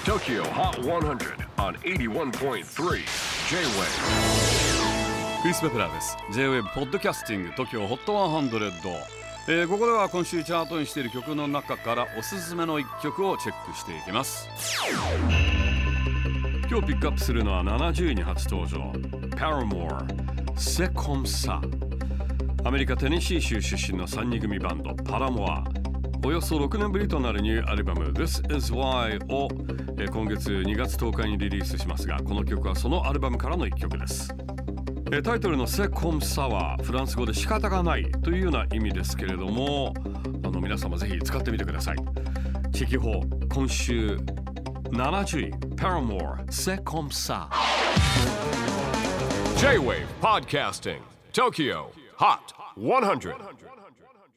TOKYO HOT 100 on 81.3 J-WAVE クリス・ベプラーです。 J-WAVE ポッドキャスティング TOKYO HOT 100、ここでは今週チャートにしている曲の中からおすすめの1曲をチェックしていきます。今日ピックアップするのは70位に初登場 Paramore C'est comme ça。 アメリカテネシー州出身の3人組バンドパラモア、およそ6年ぶりとなるニューアルバム This is Why を今月2月10日にリリースしますが、この曲はそのアルバムからの1曲です。タイトルの C'est comme ça はフランス語で仕方がないというような意味ですけれども、皆様ぜひ使ってみてください。地域法今週70位 Paramore C'est comme ça。 J-WAVE PODCASTING TOKYO HOT 100